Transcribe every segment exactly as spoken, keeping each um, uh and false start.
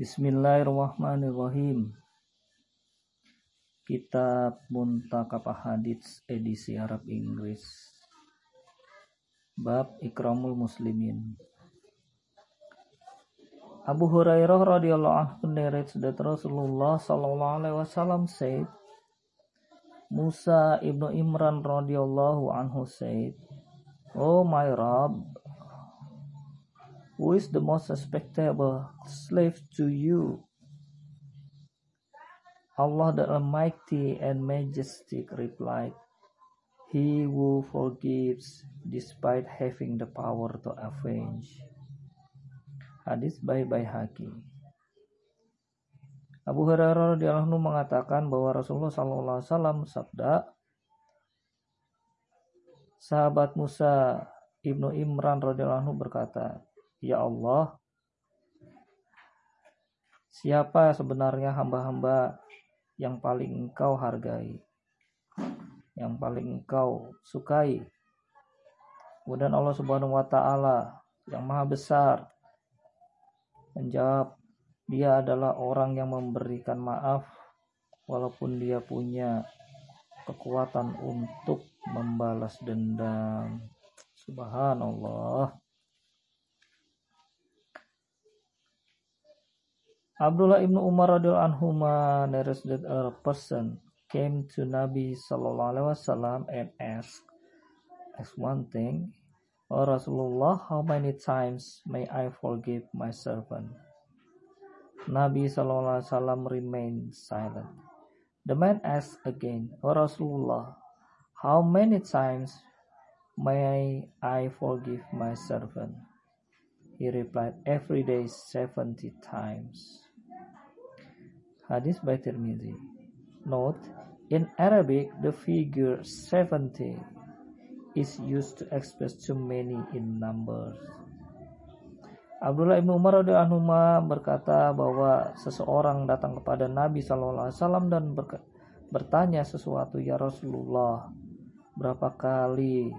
Bismillahirrahmanirrahim. Kitab Muntakab Ahadits edisi Arab Inggris. Bab Ikramul Muslimin. Abu Hurairah radhiyallahu anhu narrates that Rasulullah sallallahu alaihi wasallam said, Musa ibnu Imran radhiyallahu anhu said, "Oh my Rabb, who is the most respectable slave to you?" Allah the Almighty and Majestic replied, "He who forgives despite having the power to avenge." Hadis by Baihaqi. Abu Hurairah radhiyallahu anhu mengatakan bahwa Rasulullah sallallahu alaihi wasallam sabda, sahabat Musa ibnu Imran radhiyallahu anhu berkata, "Ya Allah, siapa sebenarnya hamba-hamba yang paling engkau hargai, yang paling engkau sukai?" Kemudian Allah Subhanahu wa taala yang maha besar menjawab, dia adalah orang yang memberikan maaf walaupun dia punya kekuatan untuk membalas dendam. Subhanallah. Abdullah ibnu Umar radhiyallahu anhuma narrates that a person came to Nabi sallallahu alaihi wasallam and asked, asked one thing, "Oh Rasulullah, how many times may I forgive my servant?" Nabi sallallahu alaihi wasallam remained silent. The man asked again, "Oh Rasulullah, how many times may I forgive my servant?" He replied, "Every day seventy times." Hadis by Tirmidzi. Note, in Arabic, the figure seventy is used to express too many in numbers. Abdullah ibnu Umar radhiyallahu anhu berkata bahwa seseorang datang kepada Nabi sallallahu alaihi wasallam dan bertanya sesuatu, "Ya Rasulullah, berapa kali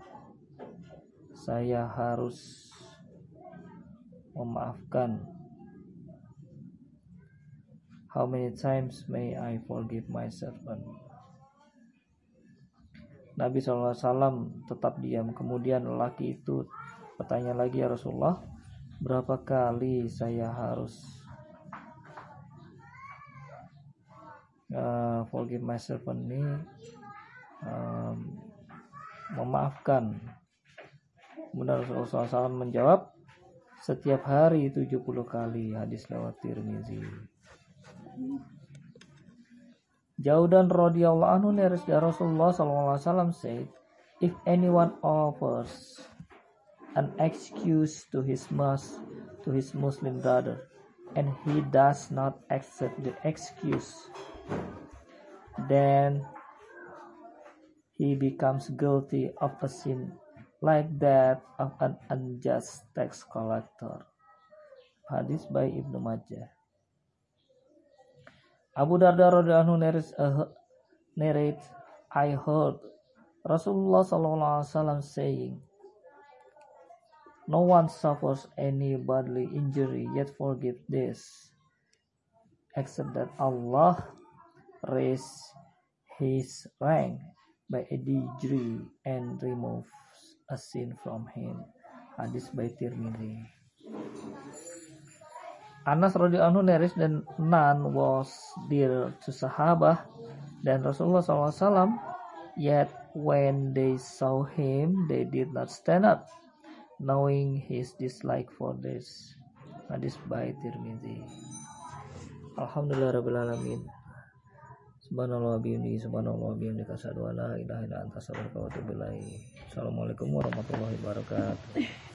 saya harus memaafkan? How many times may I forgive my servant?" Nabi sallallahu alaihi wasallam tetap diam. Kemudian lelaki itu bertanya lagi, "Ya Rasulullah, berapa kali saya harus uh, forgive my servant ini um, memaafkan?" Kemudian Rasulullah sallallahu alaihi wasallam menjawab, "Setiap hari tujuh puluh kali." Hadis lewat Tirmizi. Jaudan radhiyallahu anhu narrates that Rasulullah sallallahu alaihi wasallam said, "If anyone offers an excuse to his mus to his Muslim brother and he does not accept the excuse, then he becomes guilty of a sin like that of an unjust tax collector." Hadis by Ibnu Majah. Abu Darda radhiyallahu anhu narrates, uh, narrates, "I heard Rasulullah sallallahu alaihi wasallam saying, no one suffers any bodily injury yet forgive this, except that Allah raise his rank by a degree and removes a sin from him." Hadis by Tirmidzi. Anas radhiyallahu anhu narrates that none was dear to Sahabah dan Rasulullah sallallahu alaihi wasallam, yet when they saw him they did not stand up, knowing his dislike for this. Hadis by Tirmidzi. Alhamdulillah rabbil alamin. Subhanallah bihamdihi subhanallah bihamdika asyhadu an la ilaha illa anta astaghfiruka wa atubu ilaik. Assalamualaikum warahmatullahi wabarakatuh.